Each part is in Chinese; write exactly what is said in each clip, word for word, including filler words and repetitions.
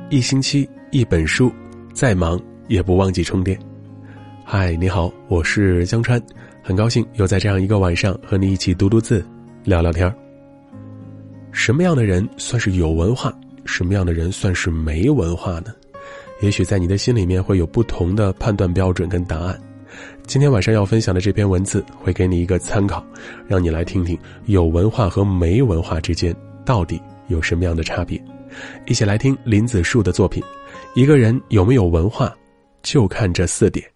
一星期一本书，再忙也不忘记充电。嗨，你好，我是江川，很高兴又在这样一个晚上和你一起读读字，聊聊天。什么样的人算是有文化，什么样的人算是没文化呢？也许在你的心里面会有不同的判断标准跟答案。今天晚上要分享的这篇文字会给你一个参考，让你来听听有文化和没文化之间到底有什么样的差别。一起来听林子树的作品，一个人有没有文化，就看这四点。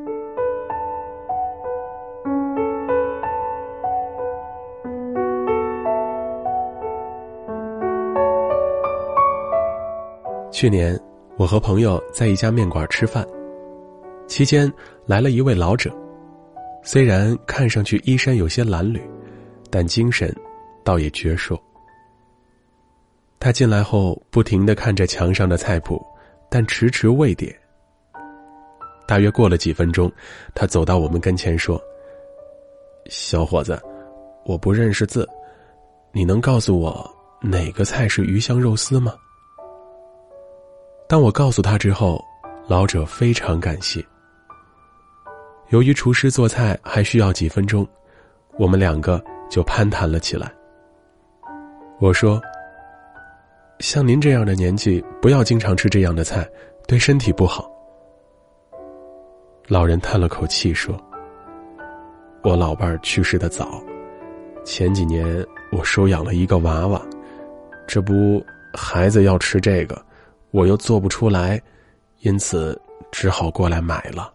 去年我和朋友在一家面馆吃饭，期间来了一位老者，虽然看上去衣衫有些褴褛，但精神倒也矍铄。他进来后不停地看着墙上的菜谱，但迟迟未点。大约过了几分钟，他走到我们跟前说：小伙子，我不认识字，你能告诉我哪个菜是鱼香肉丝吗？当我告诉他之后，老者非常感谢。由于厨师做菜还需要几分钟，我们两个就攀谈了起来。我说：像您这样的年纪，不要经常吃这样的菜，对身体不好。老人叹了口气说：我老伴儿去世得早，前几年我收养了一个娃娃，这不孩子要吃这个，我又做不出来，因此只好过来买了。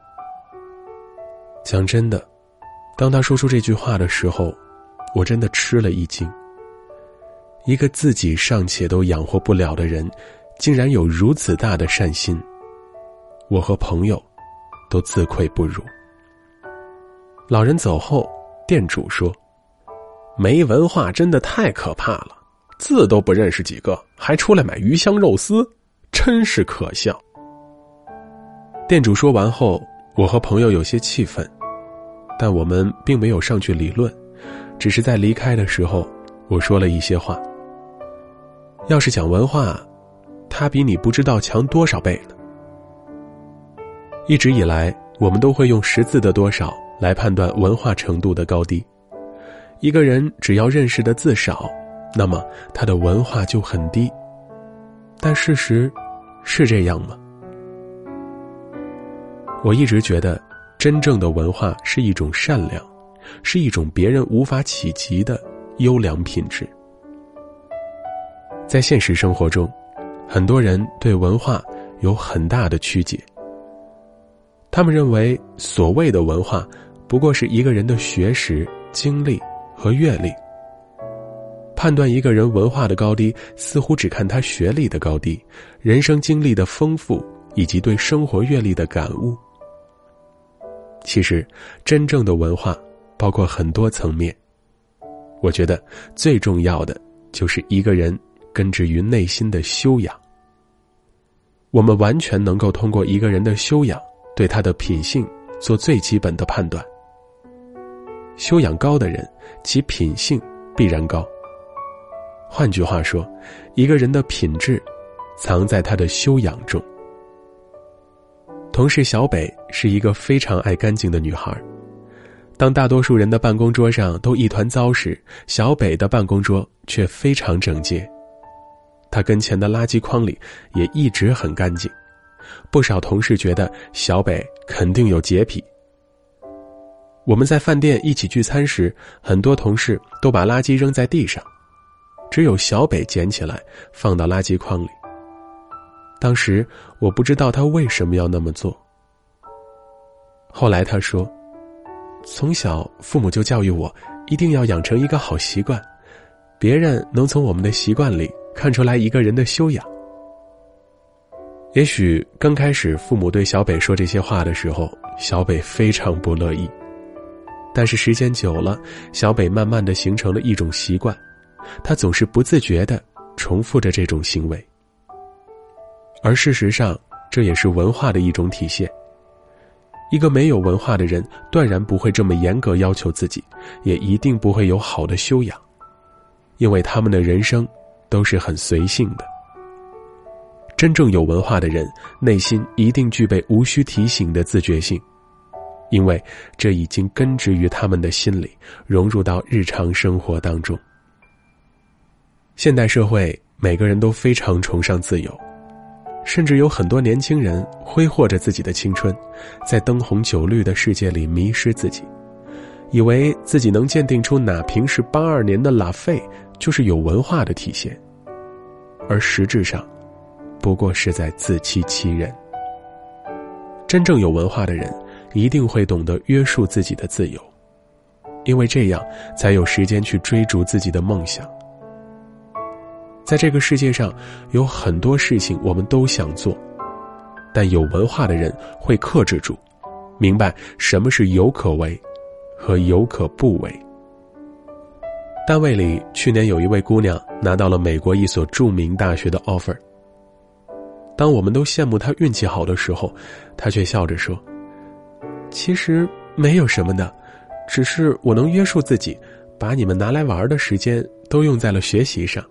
讲真的，当他说出这句话的时候，我真的吃了一惊。一个自己尚且都养活不了的人，竟然有如此大的善心，我和朋友都自愧不如。老人走后，店主说：没文化真的太可怕了，字都不认识几个，还出来买鱼香肉丝，真是可笑。店主说完后，我和朋友有些气愤，但我们并没有上去理论，只是在离开的时候，我说了一些话。要是讲文化，他比你不知道强多少倍呢。一直以来，我们都会用识字的多少来判断文化程度的高低。一个人只要认识的字少，那么他的文化就很低。但事实是这样吗？我一直觉得，真正的文化是一种善良，是一种别人无法企及的优良品质。在现实生活中，很多人对文化有很大的曲解。他们认为所谓的文化不过是一个人的学识、经历和阅历。判断一个人文化的高低，似乎只看他学历的高低、人生经历的丰富以及对生活阅历的感悟。其实真正的文化包括很多层面，我觉得最重要的就是一个人根植于内心的修养。我们完全能够通过一个人的修养，对他的品性做最基本的判断。修养高的人，其品性必然高。换句话说，一个人的品质藏在他的修养中。同事小北是一个非常爱干净的女孩，当大多数人的办公桌上都一团糟时，小北的办公桌却非常整洁。她跟前的垃圾筐里也一直很干净，不少同事觉得小北肯定有洁癖。我们在饭店一起聚餐时，很多同事都把垃圾扔在地上，只有小北捡起来放到垃圾筐里。当时我不知道他为什么要那么做。后来他说，从小父母就教育我一定要养成一个好习惯，别人能从我们的习惯里看出来一个人的修养。也许刚开始父母对小北说这些话的时候，小北非常不乐意，但是时间久了，小北慢慢地形成了一种习惯，他总是不自觉地重复着这种行为。而事实上，这也是文化的一种体现。一个没有文化的人，断然不会这么严格要求自己，也一定不会有好的修养，因为他们的人生都是很随性的。 真正有文化的人，内心一定具备无需提醒的自觉性，因为这已经根植于他们的心里，融入到日常生活当中。现代社会，每个人都非常崇尚自由，甚至有很多年轻人挥霍着自己的青春，在灯红酒绿的世界里迷失自己，以为自己能鉴定出哪瓶是八二年的拉菲就是有文化的体现，而实质上不过是在自欺欺人。真正有文化的人一定会懂得约束自己的自由，因为这样才有时间去追逐自己的梦想。在这个世界上，有很多事情我们都想做，但有文化的人会克制住，明白什么是有可为和有可不为。单位里去年有一位姑娘拿到了美国一所著名大学的 offer， 当我们都羡慕她运气好的时候，她却笑着说，其实没有什么的，只是我能约束自己，把你们拿来玩的时间都用在了学习上。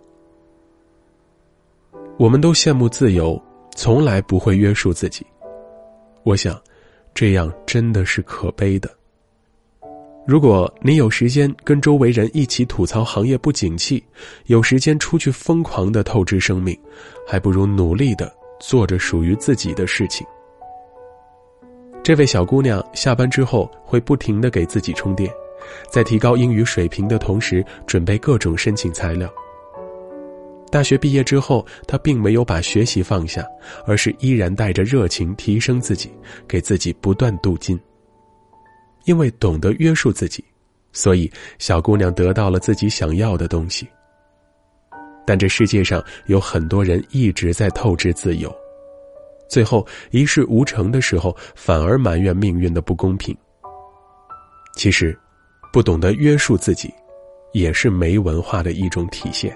我们都羡慕自由，从来不会约束自己。我想，这样真的是可悲的。如果你有时间跟周围人一起吐槽行业不景气，有时间出去疯狂地透支生命，还不如努力地做着属于自己的事情。这位小姑娘下班之后会不停地给自己充电，在提高英语水平的同时准备各种申请材料。大学毕业之后，他并没有把学习放下，而是依然带着热情提升自己，给自己不断镀金。因为懂得约束自己，所以小姑娘得到了自己想要的东西。但这世界上有很多人一直在透支自由，最后一事无成的时候，反而埋怨命运的不公平。其实，不懂得约束自己，也是没文化的一种体现。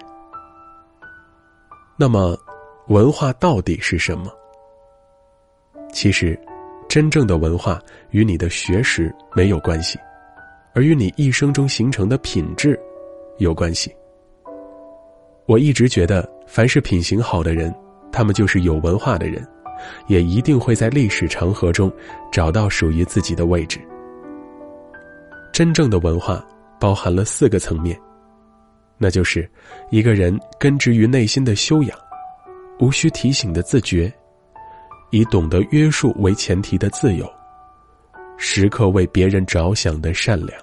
那么，文化到底是什么？其实，真正的文化与你的学识没有关系，而与你一生中形成的品质有关系。我一直觉得，凡是品行好的人，他们就是有文化的人，也一定会在历史长河中找到属于自己的位置。真正的文化包含了四个层面，那就是一个人根植于内心的修养，无需提醒的自觉，以懂得约束为前提的自由，时刻为别人着想的善良。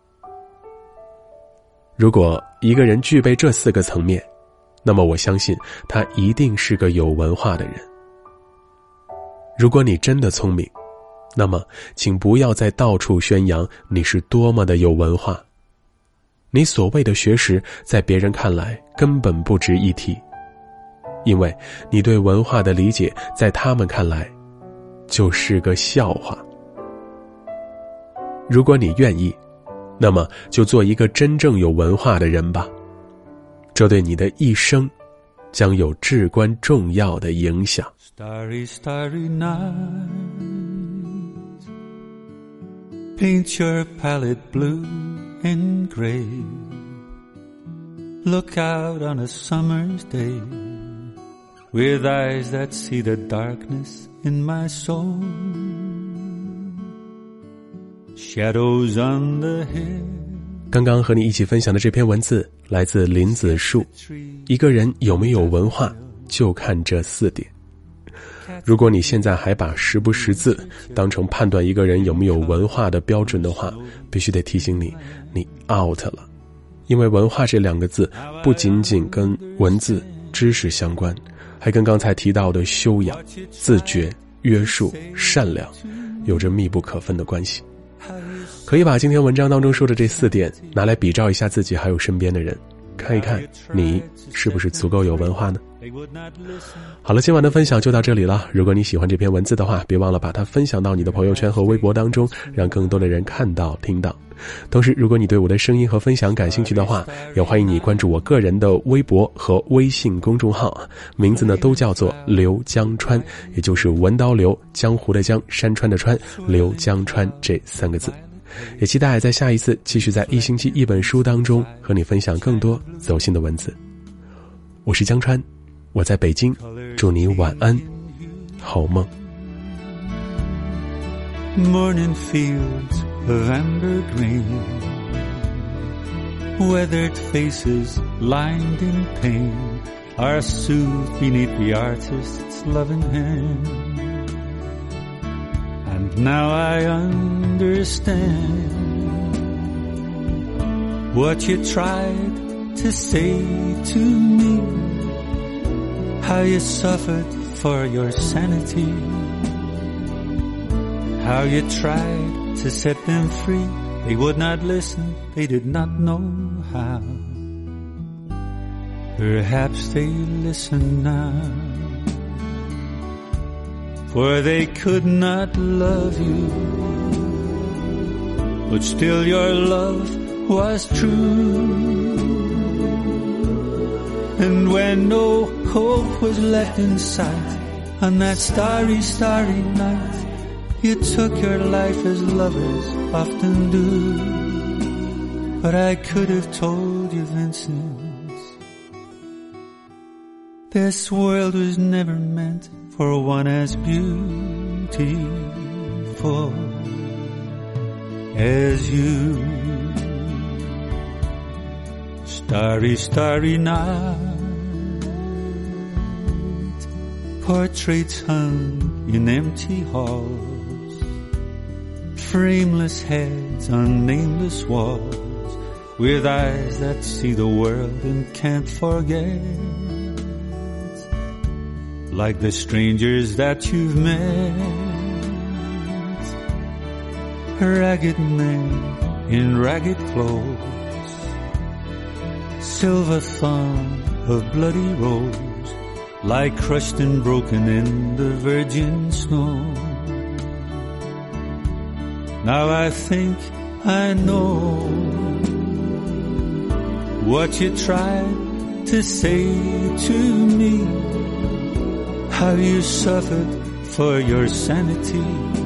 如果一个人具备这四个层面，那么我相信他一定是个有文化的人。如果你真的聪明，那么请不要再到处宣扬你是多么的有文化。你所谓的学识，在别人看来根本不值一提，因为你对文化的理解，在他们看来就是个笑话。如果你愿意，那么就做一个真正有文化的人吧，这对你的一生将有至关重要的影响。 Starry, starry night, paint your palette blue and gray. Look out on a summer's day with eyes that see the darkness in my soul. Shadows on the hill. 刚刚和你一起分享的这篇文字来自林子树。一个人有没有文化，就看这四点。如果你现在还把识不识字当成判断一个人有没有文化的标准的话，必须得提醒你，你 out 了。因为文化这两个字不仅仅跟文字知识相关，还跟刚才提到的修养、自觉、约束、善良有着密不可分的关系。可以把今天文章当中说的这四点拿来比照一下自己还有身边的人，看一看你是不是足够有文化呢？好了，今晚的分享就到这里了。如果你喜欢这篇文字的话，别忘了把它分享到你的朋友圈和微博当中，让更多的人看到听到。同时，如果你对我的声音和分享感兴趣的话，也欢迎你关注我个人的微博和微信公众号，名字呢都叫做刘江川，也就是文刀刘，江湖的江，山川的川，刘江川这三个字。也期待在下一次继续在一星期一本书当中和你分享更多走心的文字。我是江川，我在北京， 祝你晚安，好梦。 Morning fields of amber grain, weathered faces lined in pain are soothed beneath the artist's loving hand. And now I understand what you tried to say to me, how you suffered for your sanity, how you tried to set them free. They would not listen, they did not know how. Perhaps they listen now, for they could not love you, but still your love was true. And when no hope was left in sight, on that starry, starry night, you took your life as lovers often do. But I could have told you, Vincent, this world was never meant for one as beautiful as you. Starry, starry night, portraits hung in empty halls, frameless heads on nameless walls, with eyes that see the world and can't forget, like the strangers that you've met, ragged men in ragged clothes, silver thorn of bloody rose, lie crushed and broken in the virgin snow. Now I think I know what you tried to say to me, how you suffered for your sanity,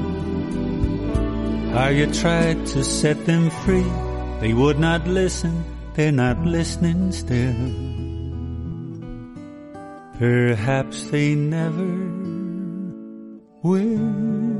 how you tried to set them free. They would not listen, they're not listening still. Perhaps they never will.